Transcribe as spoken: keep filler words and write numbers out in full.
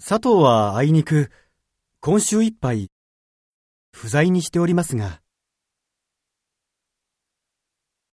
佐藤はあいにく今週いっぱい不在にしておりますが。